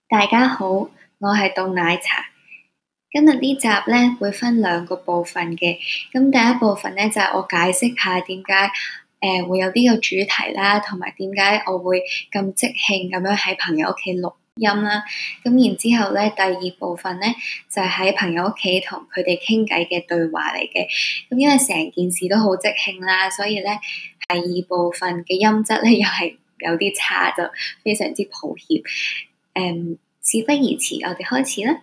大家好，我係凍奶茶。今日呢集咧會分兩個部分嘅。咁第一部分咧就係我解釋下點解會有呢個主題啦，同埋點解我會咁即興咁樣喺朋友屋企錄音啦。咁然之後咧，第二部分咧就係喺朋友屋企同佢哋傾偈嘅對話嚟嘅。咁因為成件事都好即興啦，所以咧第二部分嘅音質咧又係有啲差，就非常之抱歉。事不宜遲，我哋開始啦。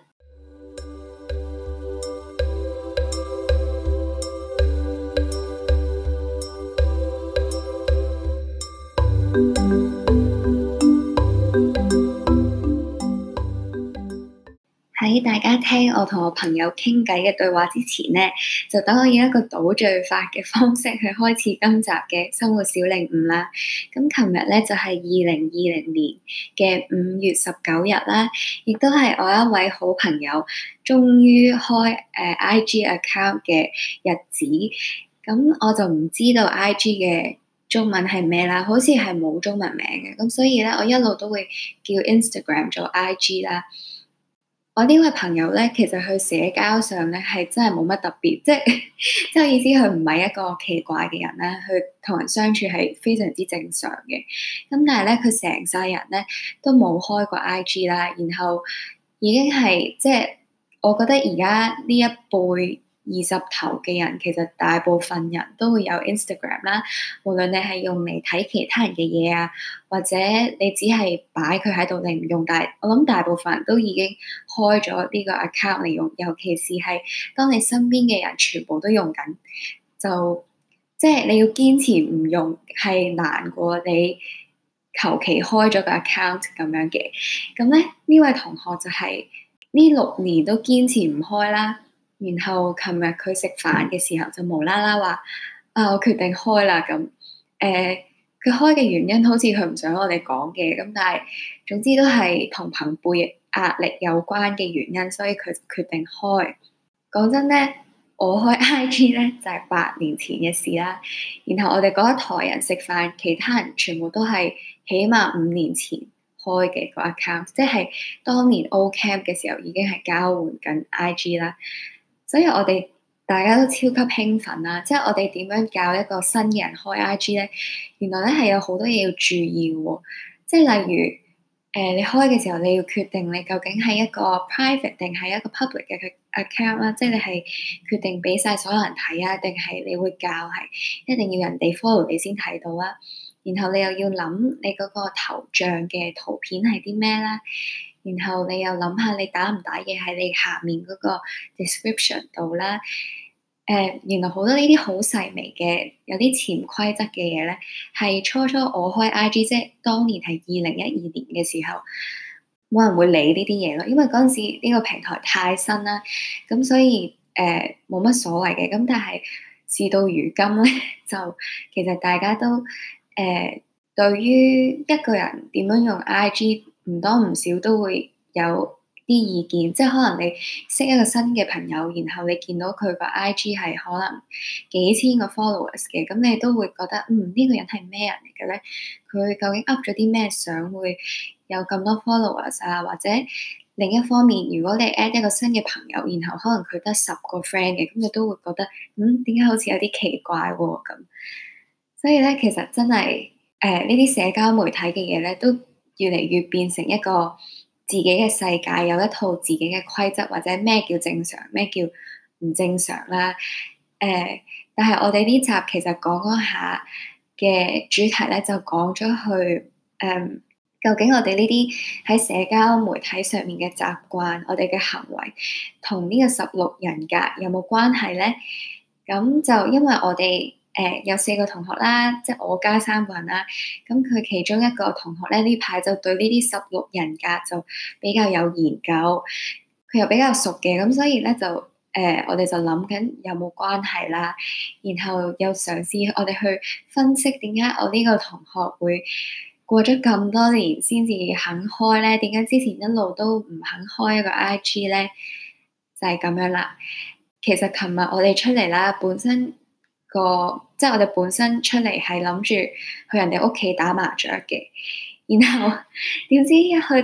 喺大家聽我同我朋友傾偈嘅對話之前呢，就等我以一個倒敘法嘅方式去開始今集嘅生活小領悟啦。咁琴日咧就係2020年嘅5月19日啦，亦都係我一位好朋友終於開IG account 嘅日子。咁我就唔知道 IG 嘅中文係咩啦，好似係冇中文名嘅。咁所以咧，我一路都會叫 Instagram 做 IG 啦。我呢位朋友咧，其實佢社交上咧係真係冇乜特別，即係意思佢唔係一個奇怪嘅人啦，佢同人相處係非常之正常嘅。咁但係咧，佢成世人咧都冇開過 IG 啦，然後已經係即係我覺得而家呢一輩20頭嘅人，其實大部分人都會有 Instagram 啦。無論你係用嚟睇其他人嘅嘢啊，或者你只係擺佢喺度你唔用，但係我諗大部分人都已經開咗呢個 account 嚟用。尤其是係當你身邊嘅人全部都用緊，就即係你要堅持唔用係難過你求其開咗個 account 咁樣嘅。咁咧呢位同學就係呢6年都堅持唔開啦。然後琴日佢食飯嘅時候就無啦啦話我決定開啦咁。佢開嘅原因好似佢唔想我哋講嘅，咁但係總之都係同朋輩壓力有關嘅原因，所以佢決定開。講真咧，我開 IG 咧就係8年前嘅事啦。然後我哋嗰一台人食飯，其他人全部都係起碼5年前開嘅個 account，即係當年 O Camp 嘅時候已經係交換緊 IG 啦。所以我哋大家都超級興奮啦，即係我哋點樣教一個新嘅人開 IG 咧？原來咧係有好多嘢要注意喎，即係例如你開嘅時候你要決定你究竟係一個 private 定係一個 public 嘅 account 啦，即係你係決定俾晒所有人睇啊，定係你會教係一定要人哋 follow 你先睇到啦。然後你又要諗你嗰個頭像嘅圖片係啲咩啦。然後你又諗下你打唔打嘢喺你下面嗰個 description 度啦。原來好多呢啲好細微嘅有啲潛規則嘅嘢咧，係初我開 IG 即係當年係2012年嘅時候，冇人會理呢啲嘢咯，因為嗰陣時呢個平台太新啦，咁所以冇乜所謂嘅。咁但係事到如今咧，就其實大家都對於一個人點樣用 IG，唔多唔少都會有啲意見，即係可能你識一個新嘅朋友，然後你見到佢個 IG 係可能幾千個 followers 嘅，咁你都會覺得呢個人係咩人嚟嘅咧？佢究竟 up 咗啲咩相會有咁多 followers 啊？或者另一方面，如果你 add 一個新嘅朋友，然後可能佢得10個 friend 嘅，咁你都會覺得點解好似有啲奇怪喎咁。所以咧，其實真係呢啲社交媒體嘅嘢咧，都越嚟越變成一個自己嘅世界，有一套自己嘅規則，或者咩叫正常，咩叫唔正常啦。但係我哋呢集其實講下嘅主題咧，就講咗去究竟我哋呢啲喺社交媒體上面嘅習慣，我哋嘅行為同呢個16人格有冇關係咧？咁就因為我哋有4個同學啦，即係我加3個人啦。咁佢其中一個同學咧，呢排就對呢啲16人格就比較有研究，佢又比較熟嘅，咁所以咧就我哋就諗緊有冇關係啦。然後又嘗試我哋去分析點解我呢個同學會過咗咁多年先至肯開咧？點解之前一路都唔肯開一個 IG 咧？就係咁樣啦。其實琴日我哋出嚟啦，本身即係我哋本身出嚟係諗住去人哋屋企打麻雀嘅，然後點知一去到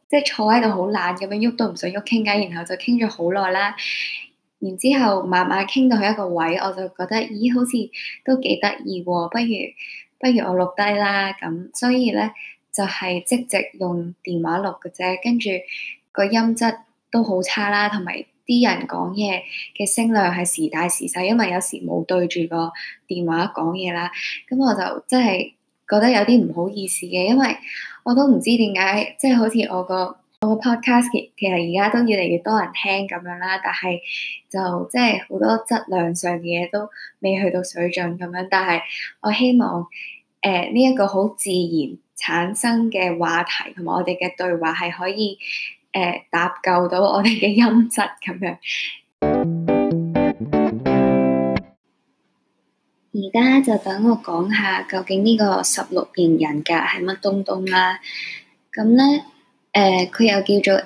即係坐喺度好懶咁樣喐都唔想喐傾偈，然後就傾咗好耐啦。然之後慢慢傾到去一個位，我就覺得咦，好似都幾得意喎，不如我錄低啦咁。所以咧就係即席用電話錄嘅啫，跟住個音質都好差啦，同埋啲人講嘢嘅聲量係時大時細，因為有時冇對住個電話講嘢啦。咁我就真係覺得有啲唔好意思嘅，因為我都唔知點解，即係好似我個 podcast 其實而家都越嚟越多人聽咁樣啦，但係就即係好多質量上嘅嘢都未去到水準咁樣。但係我希望呢一個好自然產生嘅話題同埋我哋嘅對話係可以搭救到我哋嘅音質咁樣。而家就等我講下究竟呢個16型人格係乜東東啦。咁咧佢又叫做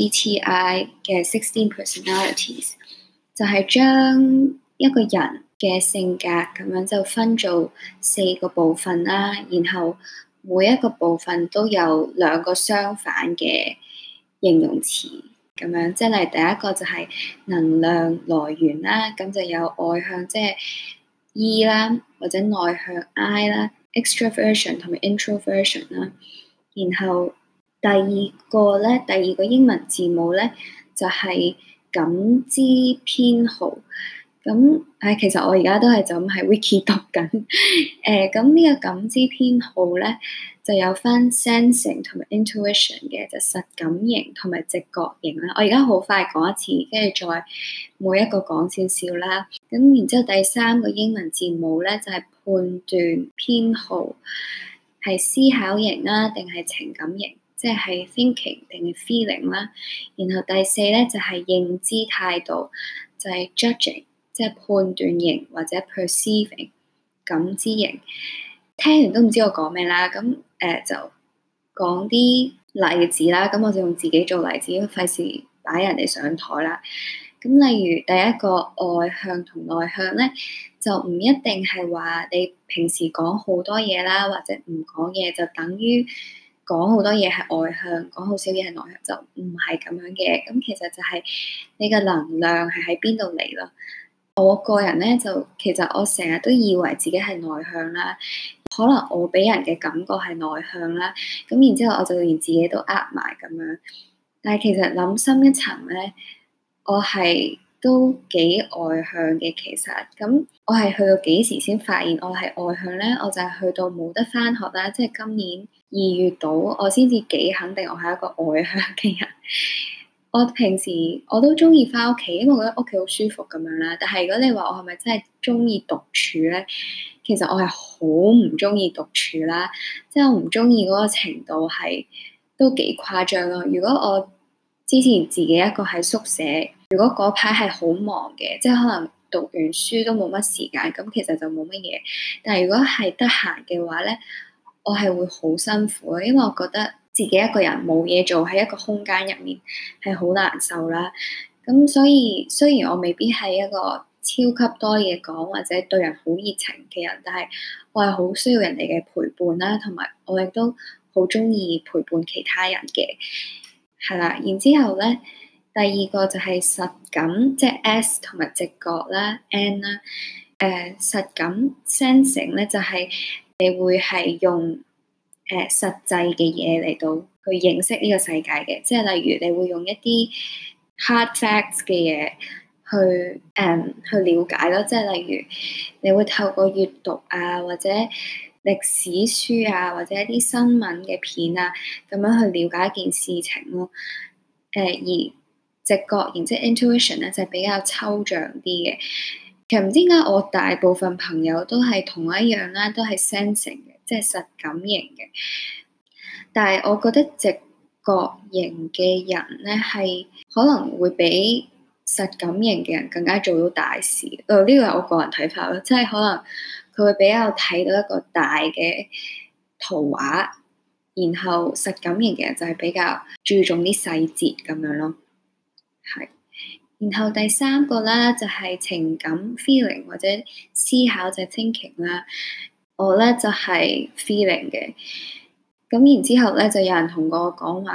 MBTI 嘅16 personalities， 就係將一個人嘅性格咁樣就分做4個部分啦，然後每一個部分都有2個相反嘅形容詞咁樣，即係例如第一個就係能量來源啦，咁就有外向即係 E 啦，或者內向 I 啦 ，extraversion 同埋 introversion 啦。然後第二個英文字母咧就係感知偏好。咁其實我而家都係就咁喺 Wiki 讀緊。咁呢個感知偏好咧就有分 sensing 同埋 intuition 嘅，就實感型同埋直覺型啦。我而家好快講一次，跟住再每一個講少少啦。咁然之後第3個英文字母咧就係判斷偏好，係思考型啦定係情感型，即係 thinking 定係 feeling 啦。然後第4咧就係認知態度，就係 judging，即係判斷型或者 perceiving 感知型。聽完都唔知我講咩啦，咁就講啲例子啦。咁我就用自己做例子，費事擺人哋上台啦。咁例如第一個外向同內向咧，就唔一定係話你平時講好多嘢啦，或者唔講嘢就等於講好多嘢係外向，講好少嘢係內向，就唔係咁樣嘅。咁其實就係你嘅能量係喺邊度嚟咯。我個人咧就其實我成日都以為自己係內向啦，可能我俾人嘅感覺係內向啦，咁然之後我就連自己都呃埋咁樣。但係其實諗深一層咧，我係都幾外向嘅。其實咁我係去到幾時先發現我係外向咧？我就係去到冇得返學啦，即係今年2月度，我先至幾肯定我係一個外向嘅人。我平時我都中意返屋企，因為我覺得屋企好舒服咁樣啦。但係如果你話我係咪真係中意獨處咧？其實我係好唔中意獨處啦，即係我唔中意嗰個程度係都幾誇張咯。如果我之前自己一個喺宿舍，如果嗰排係好忙嘅，即係可能讀完書都冇乜時間，咁其實就冇乜嘢。但係如果係得閒嘅話咧，我係會好辛苦，因為我覺得自己一個人冇嘢做喺一個空間入面係好難受啦。咁所以雖然我未必係一個超級多嘢講或者對人好熱情嘅人，但係我係好需要人哋嘅陪伴啦，同埋我亦都好中意陪伴其他人嘅，係啦。然之後咧，第二個就係實感，即係 S 同埋直覺啦 N 啦。實感 sensing 咧就係你會係用實際嘅嘢嚟到去認識呢個世界嘅，即係例如你會用一啲 hard facts 嘅嘢去了解咯，即係例如你會透過閱讀啊，或者歷史書啊，或者一啲新聞嘅片啊，咁樣去了解一件事情咯。而直覺型即係 intuition 咧，就係比較抽象啲嘅。其實唔知點解我大部分朋友都係同一樣啦，都係 sensing 嘅，即係實感型嘅。但係我覺得直覺型嘅人咧，係可能會比實感型嘅人更加做到大事。呢個係我個人睇法咯，即係可能佢會比較睇到一個大嘅圖畫，然後實感型嘅人就係比較注重啲細節咁樣咯，係。然後第3個啦就係情感 feeling 或者思考就係 thinking 啦。我咧就係 feeling 嘅。咁然之後咧就有人同我講話，個二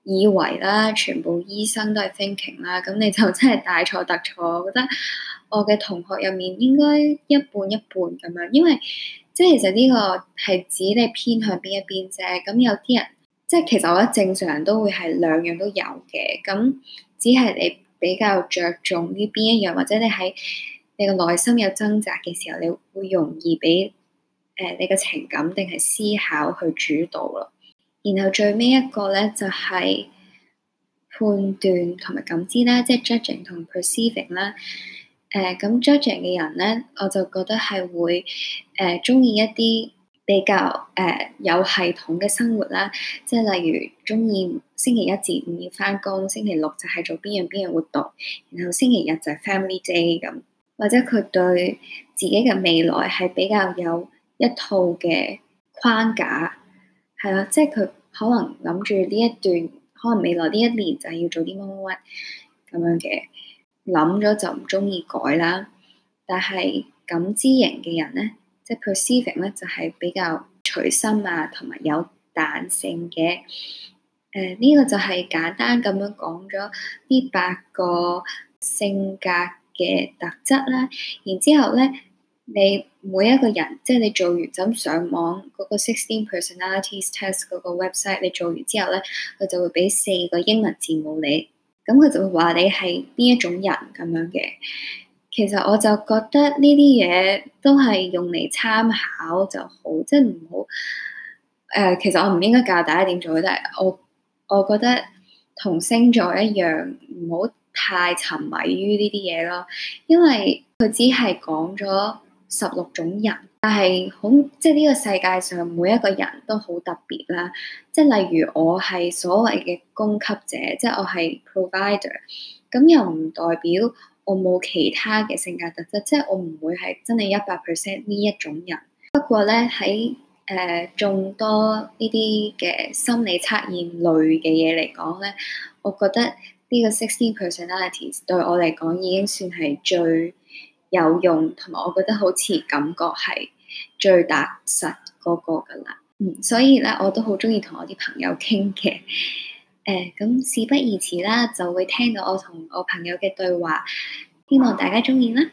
以為啦，全部醫生都係 thinking 啦，咁你就真係大錯特錯。我覺得我嘅同學入面應該一半一半咁樣，因為即係其實呢個係指你偏向邊一邊啫。咁有啲人即係其實我覺得正常人都會係兩樣都有嘅，咁只係你比較着重呢邊一樣，或者你喺你個內心有掙扎嘅時候，你會容易俾你嘅情感定係思考去主導咯。然後最尾一個咧就係判斷同埋感知啦，即係 judging 同 perceiving 啦。咁 judging 嘅人咧，我就覺得係會中意一啲比較有系統嘅生活啦，即係例如中意星期一至五要返工，星期六就係做邊樣活動，然後星期日就係 family day 咁，或者佢對自己嘅未來係比較有一套嘅框架。係啦，即係佢可能諗住呢一段，可能未來呢一年就係要做啲乜乜乜咁樣嘅，諗咗就唔中意改啦。但係感知型嘅人咧，即係 perceiving 咧，就係比較隨心啊，同埋有彈性嘅。呢個就係簡單咁樣講咗呢8個性格嘅特質啦。然之後咧，你每一個人，即係你做完就咁上網嗰個16 personalities test 嗰個 website， 你做完之後咧，佢就會俾4個英文字母你，咁佢就會話你係邊一種人咁樣嘅。其實我就覺得呢啲嘢都係用嚟參考就好，即係唔好其實我唔應該教大家點做，但係我覺得同星座一樣，唔好太沉迷於呢啲嘢咯，因為佢只係講咗16種人，但係即係呢個世界上每一個人都好特別啦。即係例如我係所謂嘅供給者，即係我係 provider， 咁又唔代表我冇其他嘅性格特質，即係我唔會係真係100% 呢一種人。不過咧喺眾多呢啲嘅心理測驗類嘅嘢嚟講咧，我覺得呢個16 personalities 對我嚟講已經算係最有用，同埋我覺得好似感覺係最踏實嗰個㗎啦。所以咧我都好中意同我啲朋友傾嘅。咁事不宜遲啦，就會聽到我同我朋友嘅對話，希望大家中意啦。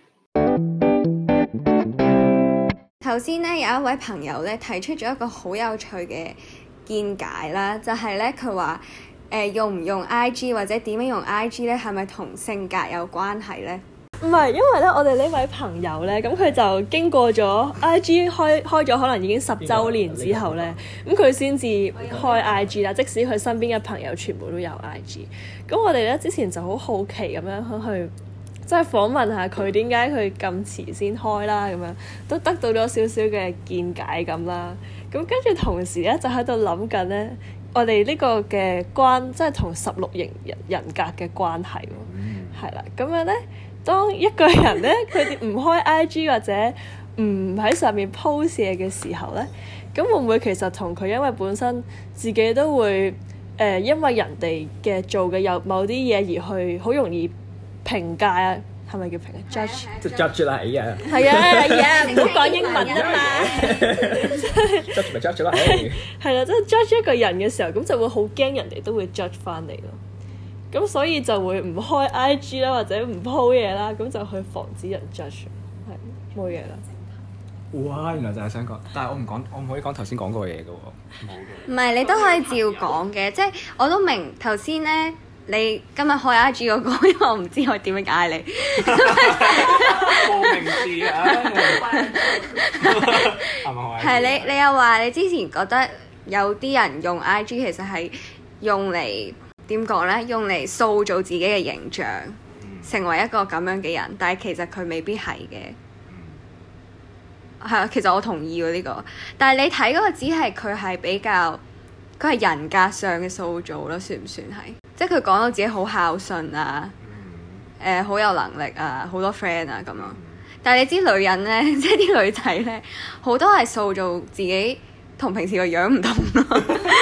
頭先咧有一位朋友咧提出咗一個好有趣嘅見解啦，就係咧佢話用唔用 IG 或者點樣用 IG 咧，係咪同性格有關係咧？ 唔係，因為咧我哋呢位朋友咧，咁佢就經過咗 IG 開咗可能已經10週年之後咧，咁佢先至開 IG 啦。即使佢身邊嘅朋友全部都有 IG，咁我哋咧之前就好好奇咁樣去即係訪問下佢點解佢咁遲先開啦，咁樣都得到咗少少嘅見解咁啦。咁跟住同時咧就喺度諗緊咧，我哋呢個嘅即係同16型人格嘅關係喎，係啦，咁樣咧。當一個人咧，佢哋唔開 IG 或者唔喺上面 post 嘢嘅時候咧，咁會唔會其實同佢因為本身自己都會因為人哋嘅做嘅有某啲嘢而去好容易評價啊？係咪叫評價 judge？ 即係 judge 啦，係啊， 係啊，唔好講英文啊嘛。 judge 咪 judge 啦， 係啦，即係 judge 一個人嘅時候，咁就會好驚人哋都會 judge 翻你咯。咁所以就會唔開 IG 啦，或者唔 po 嘢啦，咁就去防止人 judge， 係冇嘢啦。 哇！原來就係想講，但係我唔可以講頭先講過嘅嘢嘅喎。 唔係，你都可以照講嘅，即係我都明頭先咧，你今日開 IG 嗰個，因為我唔知我點樣嗌你。冇名字啊！係你又話你之前覺得有啲人用 IG 其實係用嚟。點講咧？用嚟塑造自己嘅形象，成為一個咁樣嘅人，但係其實佢未必係嘅。係啊，其實我同意喎呢個。但係你睇嗰個只係佢係比較，佢係人格上嘅塑造咯，算唔算係？即係佢講到自己好孝順啊，好有能力啊，好多 friend 啊咁樣。但係你知女人咧，即係啲女仔咧，好多係塑造自己同平時個樣唔同咯。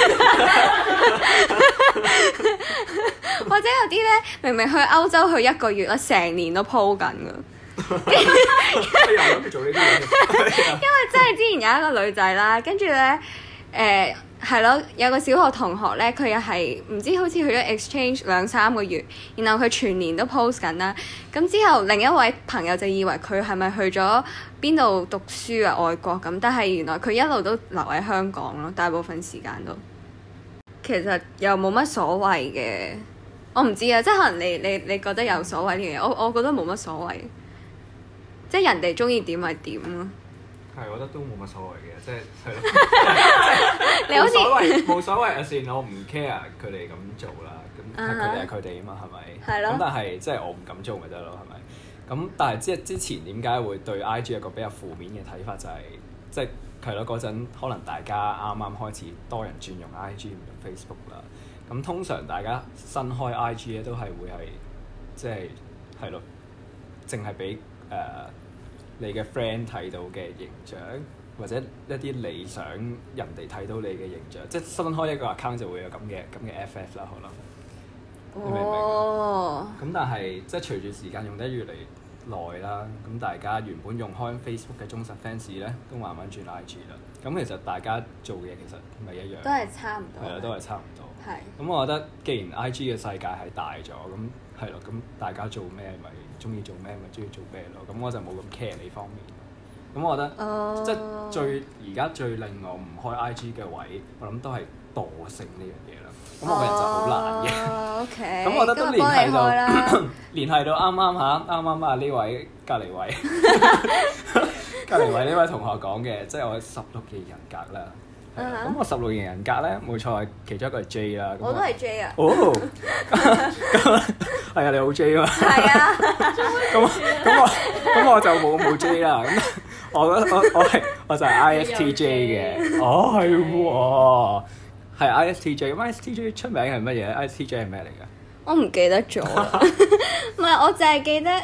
或者有啲咧，明明去歐洲去1個月啦，成年都 po 緊噶。因為真係之前有一個女仔啦，跟住咧， 係咯，有個小學同學咧，佢又係唔知好似去咗 exchange 2-3個月，然後佢全年都 post 緊啦。咁之後另一位朋友就以為佢係咪去咗邊度讀書啊，外國咁，但係原來佢一路都留喺香港咯，大部分時間都。其實又冇乜所謂嘅，我唔知啊，即係可能你覺得有所謂呢樣嘢，我覺得冇乜所謂，即係人哋中意點咪點咯。 係，我覺得都冇乜所謂嘅，即係咯，你好似冇所謂啊，算我唔 care 佢哋咁做啦，咁佢哋係佢哋啊嘛，係咪？係咯。咁但係即係我唔敢做咪得咯，係咪？咁但係即係之前點解會對 IG 有個比較負面嘅睇法，就係即係係咯，嗰陣可能大家啱啱開始多人轉用 IG 唔用 Facebook 啦，咁通常大家新開 IG 咧都係會係即係咯，淨係俾你嘅 friend 睇到嘅形象，或者一啲你想人哋睇到你嘅形象，即係新開一個 account 就會有咁嘅FF 啦，可能。你明唔明？咁但係即係隨住時間用得越嚟耐啦，咁大家原本用開 Facebook 嘅忠實 fans 咧，都慢慢轉 IG 啦。咁其實大家做嘅其實唔係一樣， 都係差唔多。 係啦，都係差唔多。 係。咁我覺得，既然 IG 嘅世界係大咗，咁係咯，咁大家做咩咪中意做咩咪中意做咩咯。咁我就冇咁 care 呢方面。咁我覺得，即係而家最令我唔開 IG 嘅位，我諗都係惰性呢樣嘢啦。咁我個人就好懶嘅。 OK。 咁我覺得都聯繫到啱啱啊呢位隔離位呢位同學講嘅，即係我16型人格啦。咁我16型人格咧，冇錯，其中一個係 J 啦。 我都係 J 啊。 哦。係啊，你好 J 啊嘛。係啊。咁我就冇 J 啦。咁我就係 ISTJ 嘅。哦，係喎。係 ISTJ， 咁 ISTJ 出名係乜嘢？ISTJ 係咩嚟㗎？ 我唔記得咗啦，唔係我淨係記得，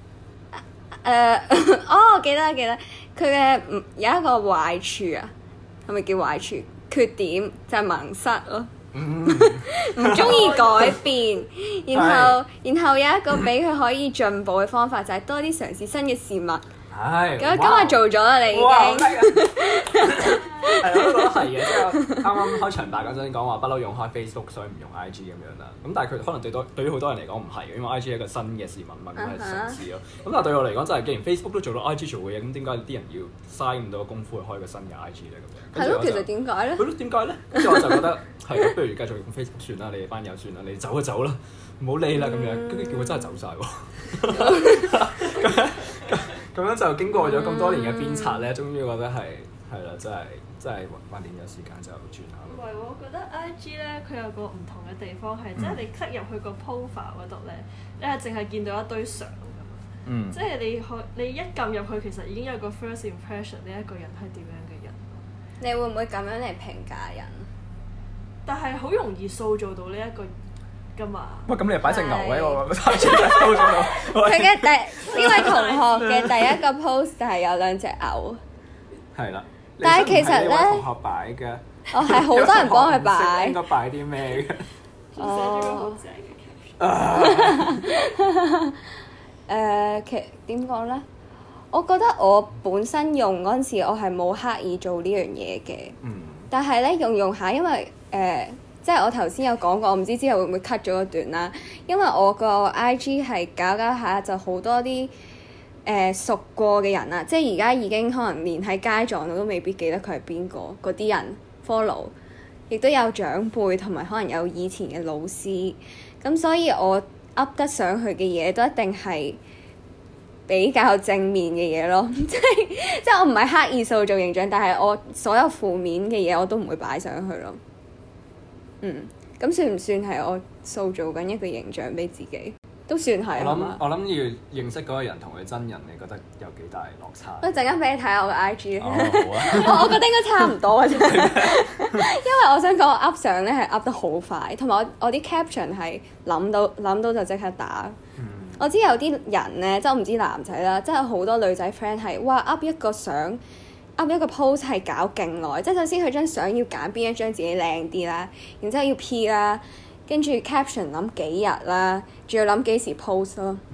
我記得佢嘅有一個壞處啊，係咪叫壞處？缺點就係盲塞咯，唔中意改變，然後有一個俾佢可以進步嘅方法就係多啲嘗試新嘅事物。係。咁今日做咗啦，你已經。係，我都覺得係嘅，即係啱啱開場白嗰陣講話不嬲用開 Facebook，所以唔用 IG 咁樣啦。咁但係佢可能對於好多人嚟講唔係，因為 IG 係一個新嘅事物嘛，咁係嘗試咯。咁但係對我嚟講就係，既然 Facebook 都做到 IG 做嘅嘢，咁點解啲人要嘥咁多功夫去開個新嘅 IG 咧？咁樣係咯，其實點解咧？係咯，點解咧？跟住我就覺得係，不如繼續用 Facebook 算啦，你哋班友算啦，你走就走啦，唔好理啦咁樣。跟住叫佢真係走晒喎。咁樣就經過咗咁多年嘅鞭策咧，終於覺得係啦，真係訓練咗時間就轉下咯。唔係喎，我覺得 IG 咧佢有個唔同嘅地方係，即係你 click 入去個 profile 嗰度咧，你係淨係見到一堆相㗎嘛。即係你一撳入去，其實已經有個 first impression 呢一個人係點樣嘅人。你會唔會咁樣嚟評價人？但係好容易塑造到呢一個㗎嘛。喂，咁你又擺隻牛喺我 IG 嘅 post 度。佢嘅呢位同學嘅第一個 post 就係有2隻牛。係啦。但係其實咧，同學擺嘅，係好多人幫佢擺。應該擺啲咩嘅？寫咗個好正嘅 caption。其點講咧？我覺得我本身用嗰陣時，我係冇刻意做呢樣嘢嘅。但係咧用下，因為即係我頭先有講過，我唔知之後會唔會 cut 咗一段啦。因為我個 IG 係搞下就好多啲。熟過嘅人啊，即係而家已經可能連喺街撞到都未必記得佢係邊個，嗰啲人 follow， 亦都有長輩同埋可能有以前嘅老師，咁所以我 up 得上去嘅嘢都一定係比較正面嘅嘢咯，即係我唔係刻意塑造形象，但係我所有負面嘅嘢我都唔會擺上去咯。咁算唔算係我塑造緊一個形象俾自己？都算係我諗要認識嗰個人同佢真人，你覺得有幾大落差？我陣間俾你睇下我嘅 IG。好啊。我覺得應該差唔多嘅啫，因為我想講我 up 相咧係 up 得好快，同埋我啲 caption 係諗到就即刻打。我知有啲人咧，即係我唔知男仔啦，即係好多女仔 friend 係哇 up 一個相 up 一個 post 係搞勁耐，即係首先佢張相要揀邊一張自己靚啲啦，然之後要 P 啦。跟住 caption 諗幾日啦，仲要諗幾時 post 咯，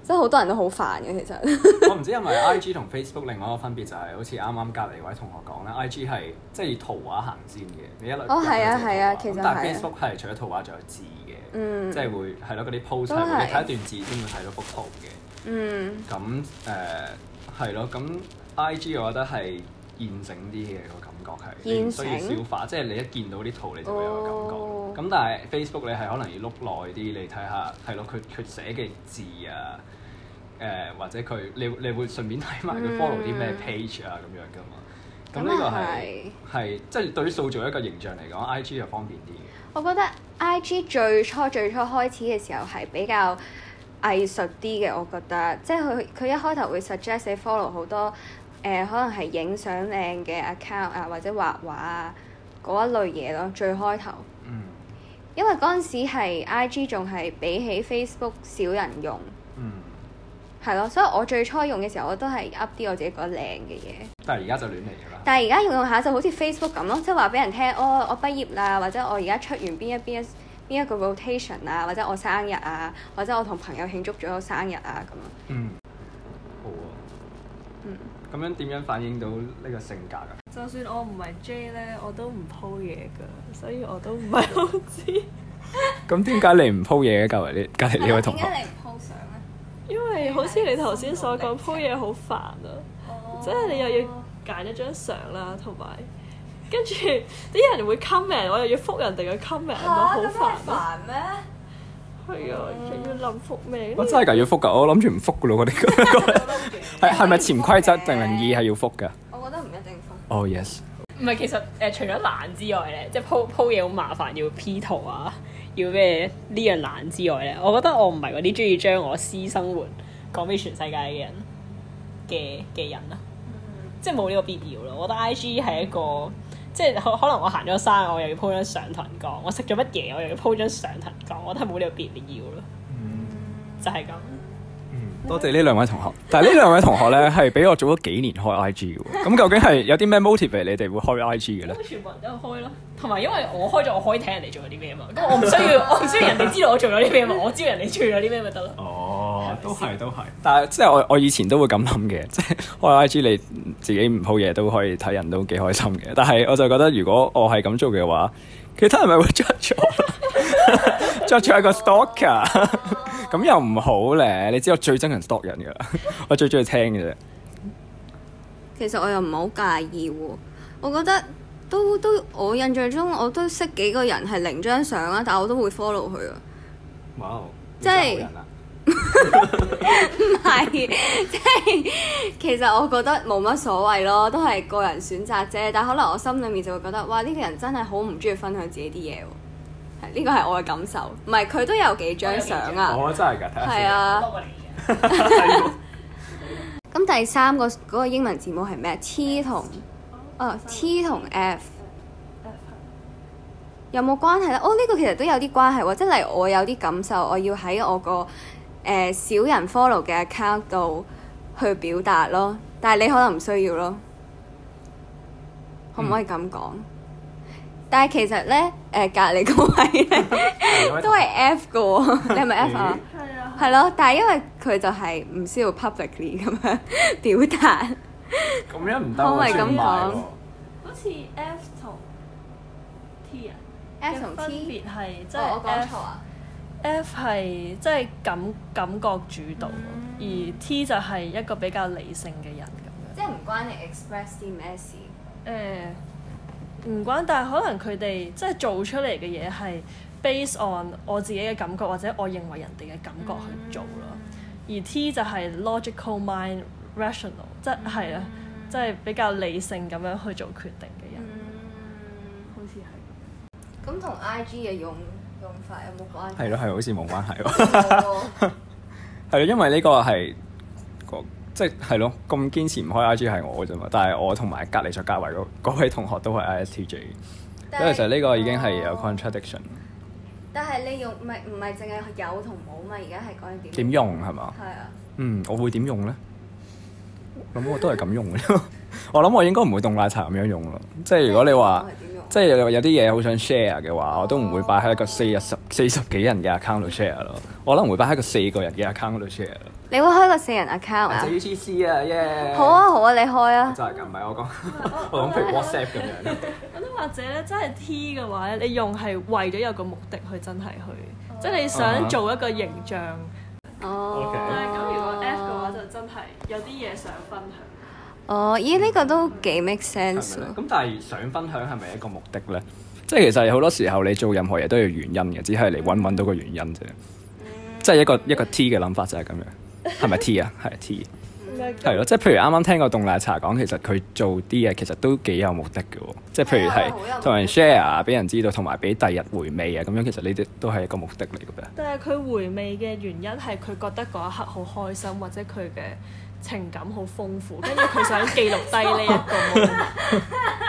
即係好多人都好煩嘅其實。 我唔知因為 IG 同 Facebook 另外一個分別就係好似啱啱隔離位同學講咧，IG 係即係以圖畫行先嘅，你一路係啊，其實但係 Facebook 係除咗圖畫仲有字嘅，即係會係咯嗰啲 post 係你睇一段字先會睇到幅圖嘅。咁係咯，咁 IG 我覺得係現成啲嘅個感覺係，你唔需要消化，即係你一見到啲圖你就會有個感覺。咁但係 Facebook 你係可能要碌耐啲，你睇下係咯，佢寫嘅字啊，或者你會順便睇埋佢 follow 啲咩 page 啊咁樣噶嘛。咁呢個係即係對於塑造一個形象嚟講，IG 就方便啲嘅。 我覺得 IG 最初開始嘅時候係比較藝術啲嘅，我覺得即係佢一開頭會 suggest 你 follow 好多可能係影相靚嘅 account 啊，或者畫畫啊嗰一類嘢咯，最開頭。因為嗰陣時係 IG 仲係比起 Facebook 少人用，係咯，所以我最初用嘅時候我都係 up 啲我自己覺得靚嘅嘢。但係而家就亂嚟㗎啦。但係而家用下就好似 Facebook 咁咯，即係話俾人聽，我畢業啦，或者我而家出完邊一個 rotation 啊，或者我生日啊，或者我同朋友慶祝咗生日啊咁樣。 好啊。咁樣點樣反映到呢個性格㗎？ 就算我唔係 J 咧，我都唔 po 嘢㗎，所以我都唔係好知。 咁點解你唔 po 嘢嘅？隔離呢位同學。 點解你唔 po 相咧？因為好似你頭先所講 po 嘢好煩啊，即係你又要揀一張相啦，同埋跟住啲人會 comment， 我又要覆人哋嘅 comment，咪好煩咯。咩？係啊，仲要諗覆咩？ 我真係㗎，要覆㗎，我諗住唔覆㗎咯，嗰啲係咪潛規則定名義係要覆㗎？ 我覺得唔一定覆。 Oh yes。 唔係，其實除咗懶之外咧，即係鋪嘢好麻煩，要 P 圖啊，要咩呢樣懶之外咧，我覺得我唔係嗰啲中意將我私生活講俾全世界嘅人嘅人啊，即係冇呢個必要咯。我覺得 IG 係一個。即係可能我行咗山，我又要 po 張相同人講；我食咗乜嘢，我又要 po 張相同人講。我覺得冇呢個必要咯。就係咁。 多謝呢兩位同學。但係呢兩位同學咧係比我早咗幾年開 IG 嘅喎。咁究竟係有啲咩 motivate 你哋會開 IG 嘅咧？ 全部人都開咯。同埋因為我開咗，我可以睇人哋做咗啲咩嘛。咁我唔需要人哋知道我做咗啲咩嘛。我知道人哋做咗啲咩咪得咯。 哦，都係。但係即係我以前都會咁諗嘅，即係開 IG 你自己唔 po 嘢都可以睇人都幾開心嘅。但係我就覺得如果我係咁做嘅話，其他人咪會 judge 我，judge 一個 stalker， 咁又唔好咧。你知我最憎人 stalk 人㗎啦，我最中意聽嘅啫。 其實我又唔係好介意喎，我覺得都我印象中我都識幾個人係零張相啊，但係我都會 follow 佢啊。 哇！ 即係唔係，即係其實我覺得冇乜所謂咯，都係個人選擇啫。但係可能我心裡面就會覺得，哇！呢個人真係好唔中意分享自己啲嘢喎。呢個係我嘅感受，唔係佢都有幾張相啊。 我真係㗎，睇下先。 係啊。咁第三個嗰個英文字母係咩？T 同F 有冇關係咧？呢個其實都有啲關係喎，即係例如我有啲感受，我要喺我個少人 follow 嘅 account 度去表達咯，但係你可能唔需要咯，可唔可以咁講？但係其實咧，隔離嗰位咧都係 F 嘅喎，你係咪 F 啊？係咯，但係因為佢就係唔需要 publicly 咁樣表達， 咁樣唔得， 可唔可以咁講？ 好似 F 同 T 啊 ，F 同 T 分別係即係我講錯啊 F 係即係感覺主導，而 T 就係一個比較理性嘅人咁樣。 即係唔關你 express 啲咩事？ 唔關，但係可能佢哋即係做出嚟嘅嘢係 based on 我自己嘅感覺，或者我認為人哋嘅感覺去做咯。而 T 就係 logical mind rational， 即係啊，即係比較理性咁樣去做決定嘅人。好似係。 咁同 IG 嘅用法有冇關係？ 係咯，好似冇關係喎。係咯，因為呢個係即係咯，咁堅持唔開 IG 係我啫嘛。但係我同埋隔離再隔圍嗰位同學都係 ISTJ，因為其實呢個已經係有 contradiction。 但係你用唔係淨係有同冇嘛？而家係講緊點用係嘛？ 係啊。 我會點用咧？咁我都係咁用嘅。我諗我應該唔會凍奶茶咁樣用咯。即係如果你話即係有啲嘢好想 share 嘅話，我都唔會擺喺一個40幾人嘅 account 度 share 咯。我可能會擺喺個4個人嘅 account 度 share 咯。 你會開個4人 account 啊？ 就 UGC 啊，耶！ 好啊好啊，你開啊！ 真係㗎，唔係我講，我講譬如 WhatsApp 咁樣。 咁或者咧，真係 T 嘅話咧，你用係為咗有個目的去真係去，即係你想做一個形象。 哦。 但係咁如果 F 嘅話，就真係有啲嘢想分享。 哦，咦？呢個都幾 make sense 喎。 咁但係想分享係咪一個目的咧？即係其實好多時候你做任何嘢都有原因嘅，只係你揾到個原因啫。即係一個 T 嘅諗法就係咁樣，係咪 T 啊？係 T。係咯，即係譬如啱啱聽過凍奶茶講，其實佢做啲嘢其實都幾有目的嘅喎。即係譬如係同人 share 啊，俾人知道，同埋俾第日回味啊，咁樣其實呢啲都係一個目的嚟嘅。 但係佢回味嘅原因係佢覺得嗰一刻好開心，或者佢嘅情感好豐富，跟住佢想記錄低呢一個 moment。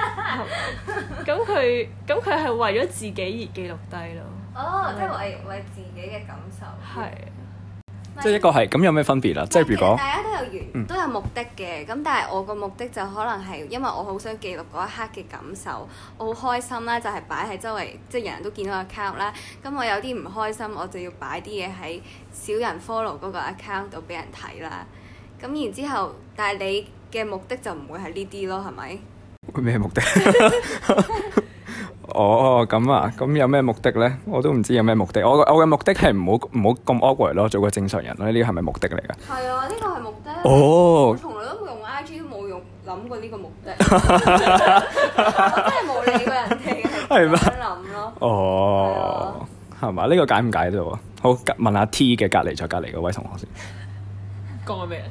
咁佢係為咗自己而記錄低咯。 哦，即係為自己嘅感受。 係。 即係一個係咁有咩分別啦？即係如果大家都都有目的嘅，咁但係我個目的就可能係因為我好想記錄嗰一刻嘅感受，我好開心啦，就係擺喺周圍，即係人人都見到個 account 啦。咁我有啲唔開心，我就要擺啲嘢喺少人 follow 嗰個 account 度俾人睇啦。咁然之後，但係你嘅目的就唔會係呢啲咯，係咪？ 咩目的？哦，咁啊，咁有咩目的咧？我都唔知有咩目的。我嘅目的係唔好咁 awkward 咯，做個正常人咯。呢啲係咪目的嚟㗎？ 係啊，呢個係目的。 哦。 我從來都冇用 IG，都冇諗過呢個目的。我真係冇理過人哋係點樣諗咯。 哦，係嘛？呢個解唔解到啊？好，問下 T 嘅隔離再隔離嗰位同學先。 講緊咩？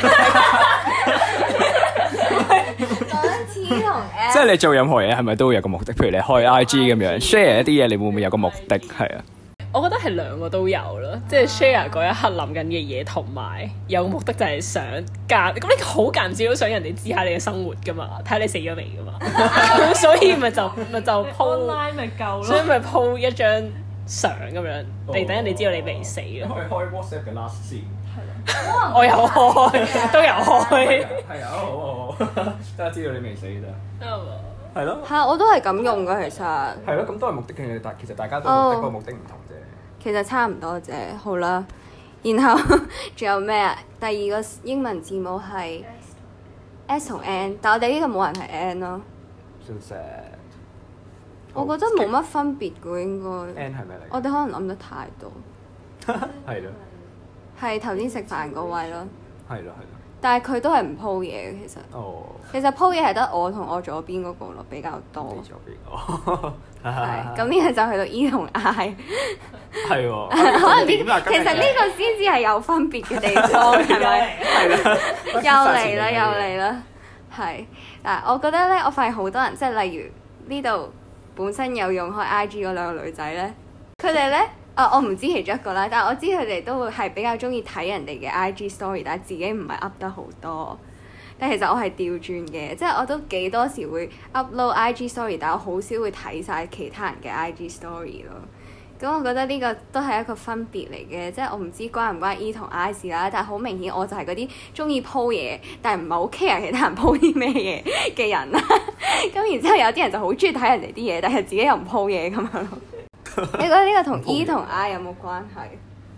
T 同 F， 即係你做任何嘢係咪都會有個目的？譬如你開 IG 咁樣 share 一啲嘢，你會唔會有個目的？係啊， 我覺得係兩個都有咯，即係 share 嗰一刻諗緊嘅嘢，同埋有個目的就係想咁你好間接都想人哋知下你嘅生活噶嘛，睇下你死咗未噶嘛，咁所以咪就 po online 咪夠咯， 所以咪 po 一張相咁樣，嚟等人哋知道你未死咯。 可以開 WhatsApp 嘅 last scene。 我有開，都有開。 係啊，好，大家知道你未死咋。係咯。 係啊，我都係咁用㗎，其實。係咯，咁都係目的嘅，但其實大家都目的個目的唔同啫。 其實差唔多啫，好啦。然後仲有咩啊？第二個英文字母係 S 同 N， 但我哋呢個冇人係 N 咯。 So sad。 我覺得冇乜分別㗎，應該。 N 係咩嚟？ 我哋可能諗得太多。 係咯。係頭先食飯嗰位咯。 係咯。 但係佢都係唔 po 嘢嘅，其實。哦。其實 po 嘢係得我同我左邊嗰個咯，比較多。 你左邊。哦。係。 咁呢個就去到 E 同 I。 係喎。 可能其實呢個先至係有分別嘅地方，係咪？係啦。又嚟啦。係。嗱，我覺得咧，我發現好多人，即係例如呢度本身有用開 IG 嗰兩個女仔咧，佢哋咧。我唔知其中一個啦，但係我知佢哋都會係比較中意睇人哋嘅 IG story，但係自己唔係 up 得好多。但其實我係調轉嘅，即係我都幾多時會 upload IG story，但我好少會睇晒其他人嘅 IG story 咯。咁我覺得呢個都係一個分別嚟嘅，即係我唔知關唔關 E 同 I 事啦，但係好明顯我就係嗰啲中意 po 嘢，但係唔係好 care 其他人 po 啲咩嘢嘅人啦。咁然之後有啲人就好中意睇人哋啲嘢，但係自己又唔 po 嘢咁樣咯。你覺得呢個同 E 同 I 有冇關係？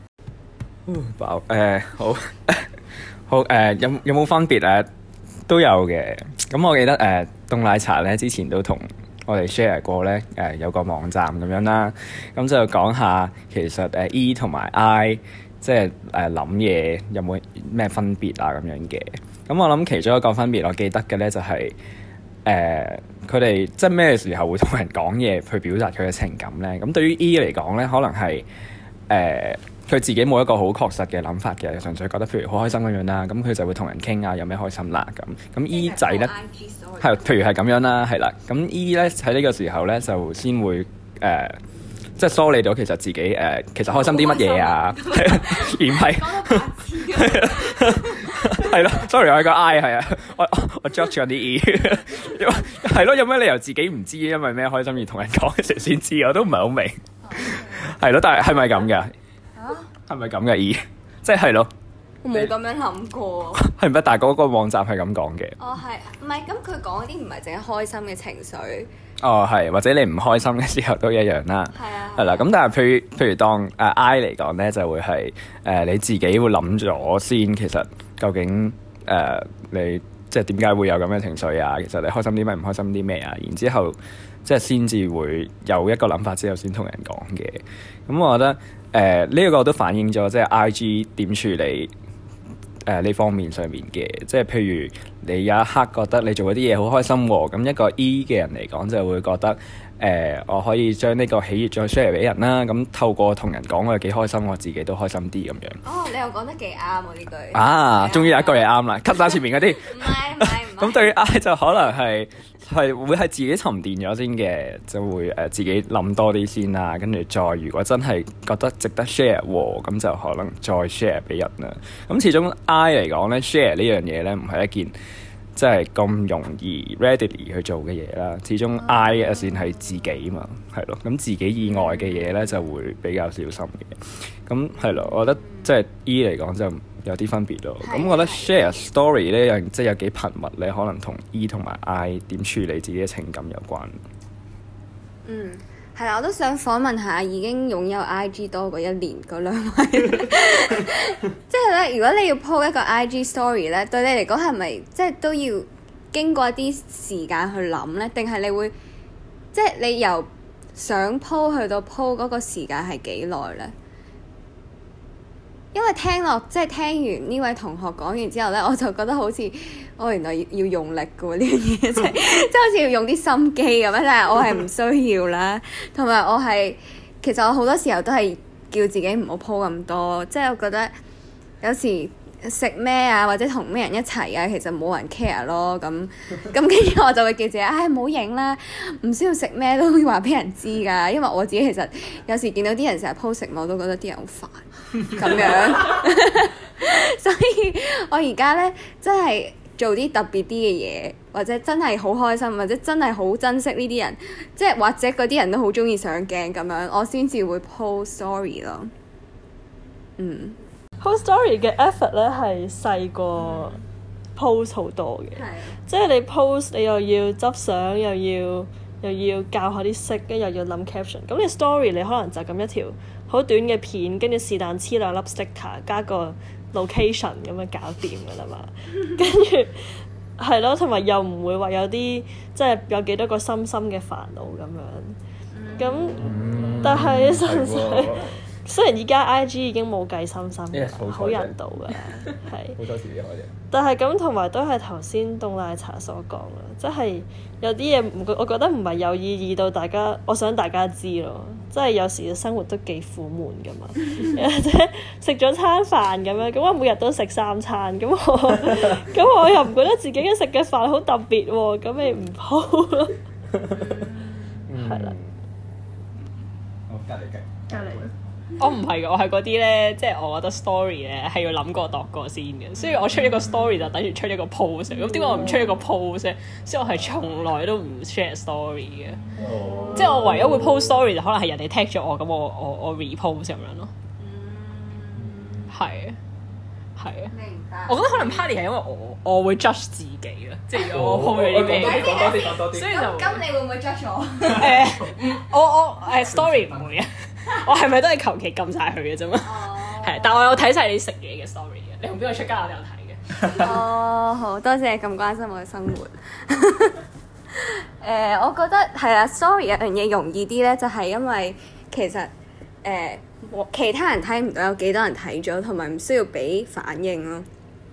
好好有冇分別啊？都有嘅。咁我記得凍奶茶咧之前都同我哋 share 過咧有個網站咁樣啦。咁就講下其實E 同埋 I 即係諗嘢有冇咩分別啊咁樣嘅。咁我諗其中一個分別我記得嘅咧就係佢哋即係咩時候會同人講嘢去表達佢嘅情感咧？咁對於 E 嚟講咧，可能係佢自己冇一個好確實嘅諗法嘅，純粹覺得譬如好開心咁樣啦，咁佢就會同人傾啊，有咩開心啦咁。咁 E 仔咧係譬如係咁樣啦，係啦。咁 E 咧喺呢個時候咧就先會即係梳理到其實自己其實開心啲乜嘢啊，而唔係係咯。Sorry， 我係個 I 係啊，我 judge 緊啲 E 係咯。有咩理由自己唔知因為咩開心而同人講嘅時候先知？我都唔係好明。係咯，但係係咪咁㗎？係咪咁嘅 E？即係咯。 我冇咁樣諗過。 係咪？但係嗰個網站係咁講嘅。 哦，係唔係咁？佢講嗰啲唔係淨係開心嘅情緒， 哦，係，或者你唔開心嘅時候都一樣啦。係啊。係啦，咁但係譬如當I 嚟講咧，就會係你自己會諗咗先，其實究竟你即係點解會有咁嘅情緒啊？其實你開心啲咩？唔開心啲咩啊？然之後即係先至會有一個諗法之後先同人講嘅。咁我覺得呢一個都反映咗即係 IG 點處理呢方面上面嘅，即係譬如你有一刻覺得你做嗰啲嘢好開心喎，咁一個 E 嘅人嚟講就會覺得我可以將呢個喜悅再 share 俾人啦，咁透過同人講我幾開心，我自己都開心啲咁樣。 哦，你又講得幾啱喎呢句。 終於有一句嘢啱啦，cut 晒前面嗰啲。 唔係。 咁對於 I 就可能係會係自己沉澱咗先嘅，就會自己諗多啲先啦，跟住再如果真係覺得值得 share 喎，咁就可能再 share 俾人啦。咁始終 I 嚟講咧 share 呢樣嘢咧唔係一件即係咁容易 readily 去做嘅嘢啦。始終 I 嘅線係自己嘛，係咯。咁自己以外嘅嘢咧就會比較小心嘅。咁係咯，我覺得即係 E 嚟講就有啲分別咯。咁我覺得 share story 呢即係有幾頻密咧，可能同 E 同埋 I 點處理自己嘅情感有關。 係啦，我都想訪問下已經擁有 IG 多過1年嗰兩位。即係咧，如果你要 po 一個 IG story 咧，對你嚟講係咪即係都要經過一啲時間去諗咧？定係你會即係你由想 po 去到 po 嗰個時間係幾耐咧？因為聽完呢位同學講完之後咧，我就覺得好似原來要用力嘅喎呢樣嘢，即係好似要用啲心機咁樣，但係我係唔需要啦。同埋其實我好多時候都係叫自己唔好 po 咁多，即係我覺得有時食咩啊，或者同咩人一齊啊，其實冇人 care 咯。咁跟住我就會叫自己，唔好影啦，唔需要食咩都會話俾人知㗎。因為我自己其實有時見到啲人成日 po 食物，我都覺得啲人好煩。咁樣，所以我而家咧真係做啲特別啲嘅嘢，或者真係好開心，或者真係好珍惜呢啲人，即係或者嗰啲人都好中意上鏡咁樣，我先至會 post story 咯。 post story 嘅 effort 咧係細過 post 好多嘅，即係你 post 你又要執相，又要校下啲色，跟住又要諗 caption。咁你 story 你可能就咁一條好短嘅片，跟住是但黐兩粒 sticker， 加個 location 咁樣搞掂㗎啦嘛。跟住係咯，同埋又唔會話有啲即係有幾多個深深嘅煩惱咁樣。咁但係實際雖然而家 IG 已經冇計深深嘅，好人道㗎，係好多時啲但係咁同埋都係頭先凍奶茶所講啦，即係有啲嘢我覺得唔係有意義到大家，我想大家知咯。即係有時嘅生活都幾苦悶㗎嘛，或者食咗餐飯咁樣，咁我每日都食3餐，咁我又唔覺得自己嘅食嘅飯好特別喎，咁咪唔好咯。係啦。 好，隔離。 我唔係嘅，我係嗰啲咧，即係我覺得 story 咧係要諗過度過先嘅，所以我出一個 story 就等於出一個 post，咁點解我唔出一個 post 咧？所以我係從來都唔 share story 嘅，即係我唯一會 post story 就可能係人哋 tag 咗我，咁我 repost 咁樣咯。係啊。明白。我覺得可能 party 係因為我會 judge 自己啊，即係如果我 post 咗啲咩，講多啲，所以就咁你會唔會 judge 我？ 我story 唔會啊。我係咪都係求其撳晒佢嘅啫嘛？係，但我有睇晒你食嘢嘅 story 嘅。你同邊個出街我都有睇嘅。 好多謝咁關心我嘅生活。我覺得係啦，story 有樣嘢容易啲咧，就係因為其實其他人睇唔到有幾多人睇咗，同埋唔需要俾反應咯。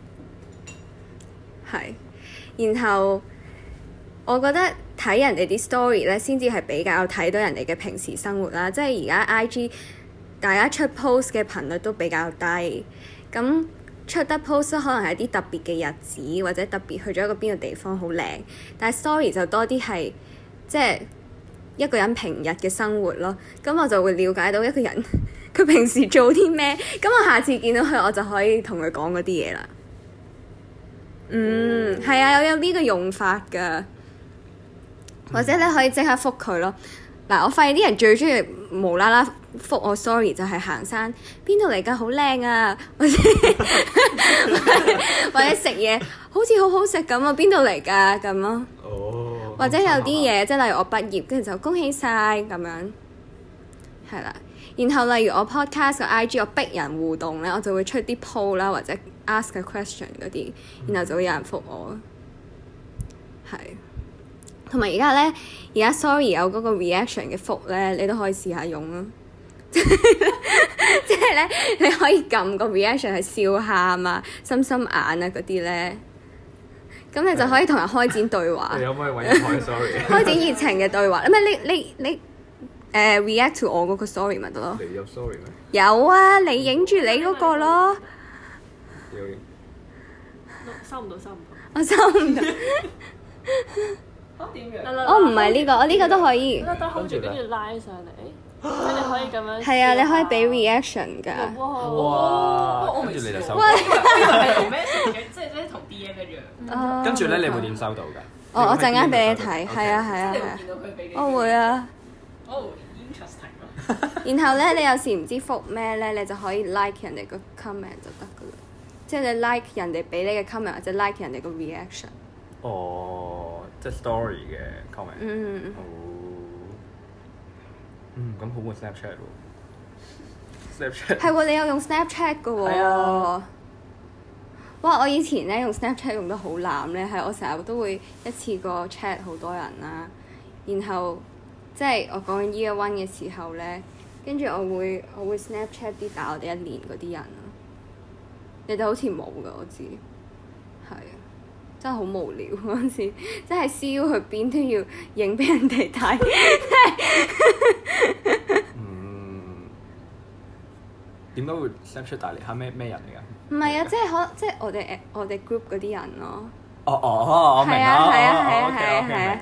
係，然後我覺得睇人哋啲 story 咧，先至係比較睇到人哋嘅平時生活啦。即係而家 IG 大家出 post 嘅頻率都比較低，咁出得 post 可能係啲特別嘅日子，或者特別去咗一個邊個地方好靚。但係 story 就多啲係即係一個人平日嘅生活咯。咁我就會了解到一個人佢平時做啲咩，咁我下次見到佢我就可以同佢講嗰啲嘢啦。係啊，有呢個用法㗎。或者你可以即刻覆佢咯。嗱，我發現啲人最中意無啦啦覆我 sorry 就係行山，邊度嚟㗎？好靚啊！或者食嘢好似好好食咁啊！邊度嚟㗎？咁咯。 或者有啲嘢即係例如我畢業，跟住就恭喜晒咁樣，係啦。然後例如我 podcast 個 IG 我逼人互動咧，我就會出啲 poll 啦，或者 ask a question 嗰啲，然後就會有人覆我。係。同埋而家 sorry 有嗰個 reaction 嘅覆咧，你都可以試下用咯。即係咧，你可以撳個 reaction 係笑喊啊、心心眼啊嗰啲咧，咁你就可以同人開展對話。 你有冇可以揾人開 sorry？ 開展熱情嘅對話，唔係你react to 我嗰個 story 咪得咯？ 你有 sorry 咩？ 有啊，你影住你嗰個咯。 收唔到。 我收唔到。 點樣？ 我唔係呢個，我呢個都可以。 跟住拉上嚟。即係你可以咁樣， 係啊，你可以俾 reaction 㗎。 哇！跟住你就收到。 係同 message 嘅，即係同 DM 一樣。 跟住咧，你會點收到㗎？ 我陣間俾你睇，係啊。我會啊。 interesting 然後咧，你有時唔知覆咩咧，你就可以 like 人哋個 comment 就得㗎啦。即係你 like 人哋俾你嘅 comment，或者 like 人哋個 reaction。 哦，即係 story 嘅 comment。咁好冇 Snapchat 喎 ？Snapchat 係喎，你有用 Snapchat 㗎喎。係啊。哇！我以前咧用 Snapchat 用得好濫咧，係我成日都會一次過 chat 好多人啦。然後即係我講緊 Year One 嘅時候咧，跟住我會 Snapchat 啲大我哋1年嗰啲人咯。你哋好似冇㗎，我知。係啊。真係好無聊嗰陣時，真係 CEO 去邊都要影俾人哋睇。 點解會 Snapchat 大嚟？係咩人嚟㗎？ 唔係啊，即係我哋 group 嗰啲人咯。 我明啦。 係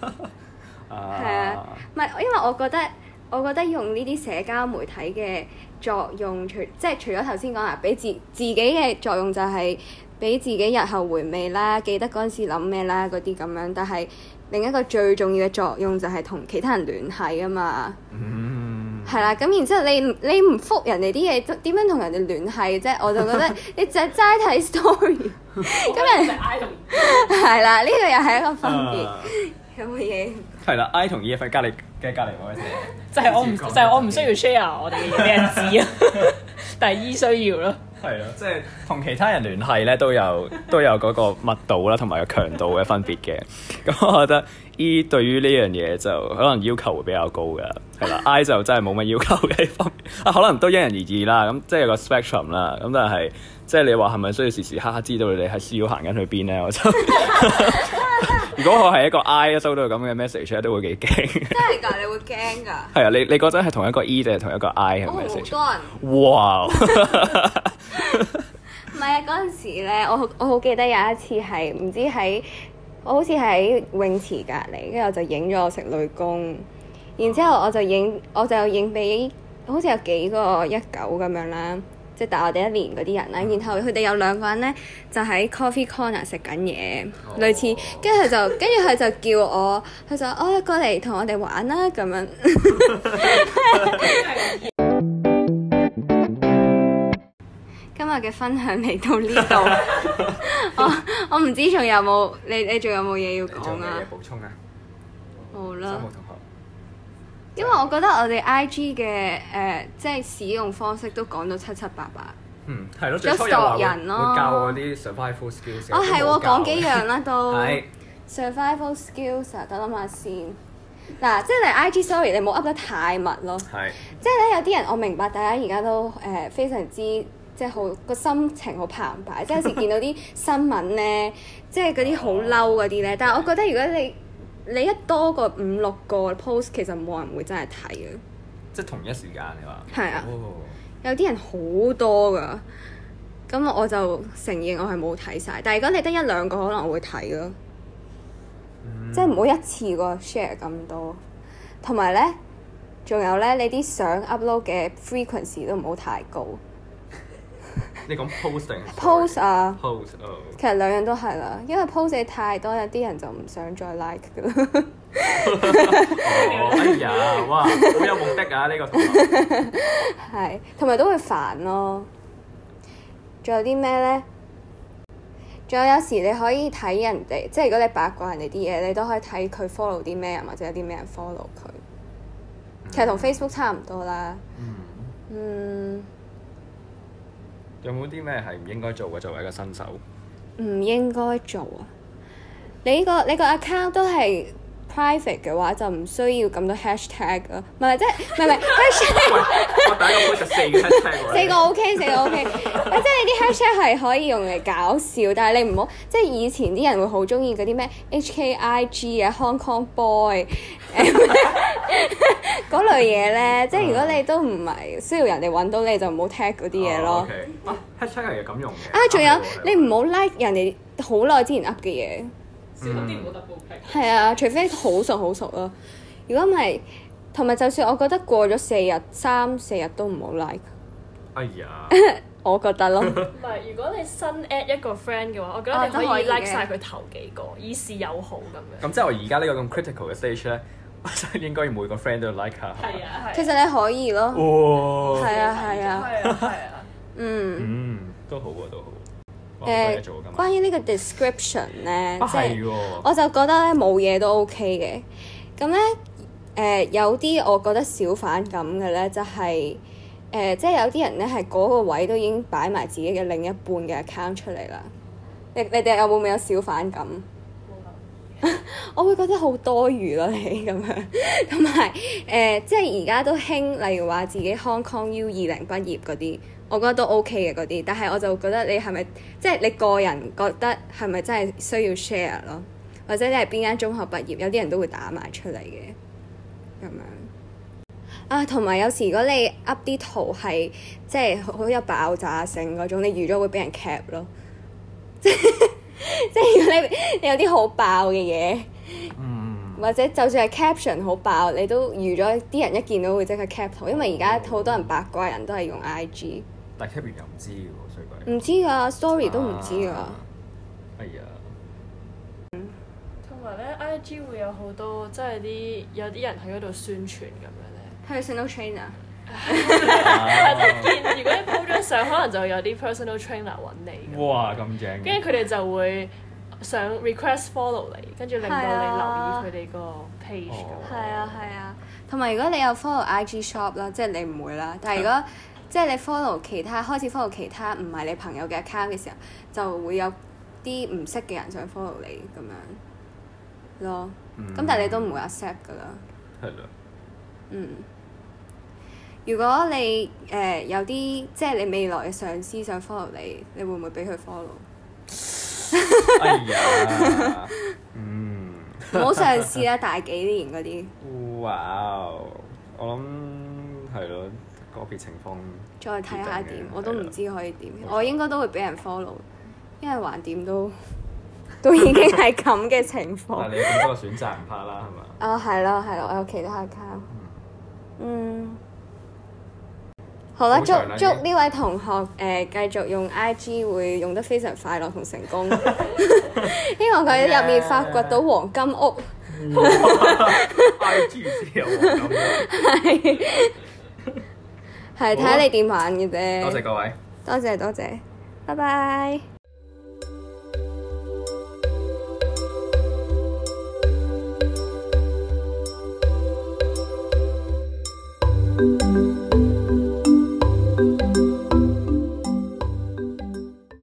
啊，唔係因為我覺得用呢啲社交媒體嘅作用，除咗頭先講啦，俾自己嘅作用就係俾自己日後回味啦，記得嗰陣時諗咩啦嗰啲咁樣。但係另一個最重要嘅作用就係同其他人聯繫啊嘛。係啦，咁然之後你唔覆人哋啲嘢，點樣同人哋聯繫啫？我就覺得你就齋睇 story， 咁人係啦，呢個又係一個分別。有冇嘢？ 係啦 ，I 同 E 喺隔離嗰位就係我唔需要 share 我哋嘅嘢俾人知啊，但係 E 需要咯。 係咯，即係同其他人聯繫咧都有嗰個密度啦，同埋個強度嘅分別嘅。咁我覺得 E 對於呢樣嘢就可能要求會比較高㗎，係啦。I 就真係冇乜要求嘅方面，可能都因人而異啦。咁即係有個 spectrum 啦。咁但係即係你話係咪需要時時刻刻知道你係 CEO 行緊去邊咧？我就如果我係一個 I 收到咁嘅 message 咧，都會幾驚。 真係㗎，你會驚㗎？ 係啊，你嗰陣係同一個 E 定係同一個 I 嘅 message？ 好多人。 哇！ 唔係啊，嗰陣時咧，我好記得有一次係唔知我好似喺泳池隔離，跟住我就影咗我食女工，然之後我就影俾好似有幾個19咁樣啦。即係大我哋1年嗰啲人啦，然後佢哋有2個人咧就喺 coffee corner 食緊嘢，類似，跟住佢就叫我，佢就過嚟同我哋玩啦咁樣。今日嘅分享嚟到呢度，我唔知仲有冇你仲有冇嘢要講啊？ 補充啊？ 好啦。因為我覺得我哋 IG 嘅即係使用方式都講到七七八八。 係咯，最初有人咯， 會教我啲 survival skills。 係喎，講幾樣啦都。 係。 survival skills 啊，等諗下先。嗱，即係你 IG story 你冇 up 得太密咯。係。即係咧，有啲人我明白，大家而家都非常之即係好個心情好澎湃，即係有時見到啲新聞咧，即係嗰啲好嬲嗰啲咧。但係我覺得如果你一多過5、6個 post， 其實冇人會真係睇嘅。 即係同一時間你話？ 係啊。有啲人好多㗎，咁我就承認我係冇睇晒。但係如果你得1、2個，可能我會睇咯。即係唔好一次過 share 咁多。同埋咧，仲有咧，你啲相 upload 嘅 frequency 都唔好太高。 你講 post 定 post 啊 ？post 其實2樣都係啦，因為 post 你太多，有啲人就唔想再 like 㗎啦。 哎呀，哇，好有目的啊！呢個同學係， 同埋都會煩咯。仲有啲咩咧？ 仲有時你可以睇人哋，即係如果你八卦人哋啲嘢，你都可以睇佢 follow 啲咩人，或者有啲咩人 follow 佢。其實同 Facebook 差唔多啦。 有冇啲咩係唔應該做嘅？作為一個新手， 唔應該做啊！你個 account 都係 private 嘅話，就唔需要咁多 hashtag 咯。唔係 hashtag。 我第一個 post 4個 hashtag 4個 OK， 4個 OK。即係你啲 hashtag 係可以用嚟搞笑，但係你唔好即係以前啲人會好中意嗰啲咩 HKIG 啊、Hong Kong Boy 嗰類嘢咧。即係如果你都唔係需要人哋揾到你，就唔好 tag 嗰啲嘢咯。 hashtag 係咁用嘅。 仲有你唔好 like 人哋好耐之前 up 嘅嘢。 小心啲唔好 double click。 係啊，除非好熟咯。如果唔係，同埋就算我覺得過咗3、4日都唔好 like。 哎呀， 我覺得咯。 唔係，如果你新 add 一個 friend 嘅話，我覺得你可以 like 晒佢頭幾個，以示友好咁樣。 咁即係我而家呢個咁 critical 嘅 stage 咧，我真係應該要每個 friend 都 like 下。 係啊， 其實你可以咯。 哇！ 係啊。 都好喎，都好。 關於呢個 description 咧，即係喎， 我就覺得咧冇嘢都 OK 嘅。咁咧有啲我覺得小反感嘅咧，就係即係有啲人咧係嗰個位都已經擺埋自己嘅另一半嘅 account 出嚟啦。你哋有冇小反感？我會覺得好多餘咯，你咁樣。同埋即係而家都興，例如話自己 Hong Kong U20畢業嗰啲。我覺得都 OK 嘅嗰啲，但係我就覺得你係咪即係你個人覺得係咪真係需要 share 咯？或者你係邊間中學畢業？有啲人都會打埋出嚟嘅咁樣啊。同埋有時如果你 up 啲圖係即係好有爆炸性嗰種，你預咗會俾人 cap 咯。即係如果你有啲好爆嘅嘢，或者就算係 caption 好爆，你都預咗啲人一見到會即刻 cap 圖，因為而家好多人八卦人都係用 IG。 但 cap 完又唔知嘅喎，衰鬼。 唔知㗎 story 都唔知㗎。 哎呀。 同埋咧 IG 會有好多即係有啲人喺嗰度宣傳咁樣咧。 personal trainer。 見如果你 po 張相，可能就有啲 personal trainer 揾你。 哇！咁正。 跟住佢哋就會想 request follow 你，跟住令到你留意佢哋個 page 咁。 係啊。同埋如果你有 follow IG shop 啦，即係你唔會啦。但係如果即係你 follow 其他開始 follow 其他唔係你朋友嘅 account 嘅時候，就會有啲唔識嘅人想 follow 你咁樣咯。咁但係你都唔會 accept 㗎啦。 係啦。 如果你有啲即係你未來嘅上司想 follow 你，你會唔會俾佢 follow？ 哎呀， 唔好嘗試啦，大幾年嗰啲。 哇！我諗係咯，個別情況再睇下點，我都唔知可以點。我應該都會俾人 follow，因為橫掂都已經係咁嘅情況。 但係你有咁多個選擇唔怕啦，係嘛？ 係咯，我有其他 account。好啦，祝呢位同學繼續用 IG 會用得非常快樂同成功。希望佢入面發掘到黃金屋。 IG 先有黃金屋。 係睇下你點玩嘅啫。 多謝各位。 多謝，拜拜。